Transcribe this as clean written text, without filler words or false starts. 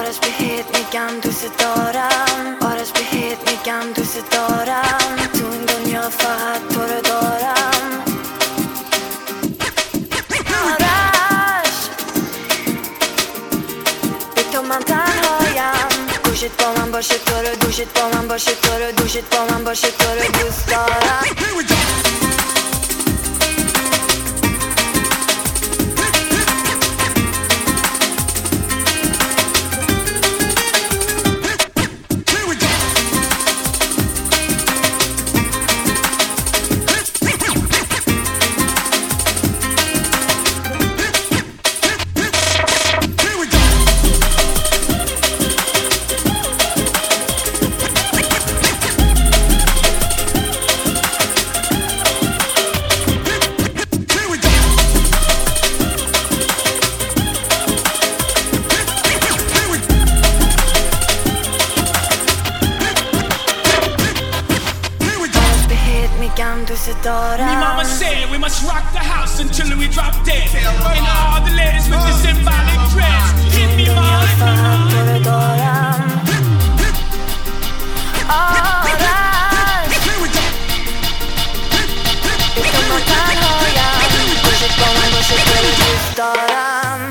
آرش بهت میگم دوست دارم، آرش بهت میگم دوست دارم، تو این دنیا فقط تو رو دارم. آرش به تو من تنهایم، گوشت با من باشه تو رو، دوشت با من باشه تو رو، دوشت با من باشه تو رو دوست دارم. Dost دارم. Me mama said we must rock the house until we drop dead. And all the ladies with the symbolic dress. Hit me mama, تو رو دارم. آرش به تو من تنهایم، گوشت با من باشه تو رو دوست دارم.